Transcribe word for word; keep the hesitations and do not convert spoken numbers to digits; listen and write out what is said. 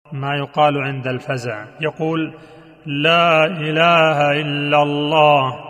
ما يقال عند الفزع، يقول: لا إله إلا الله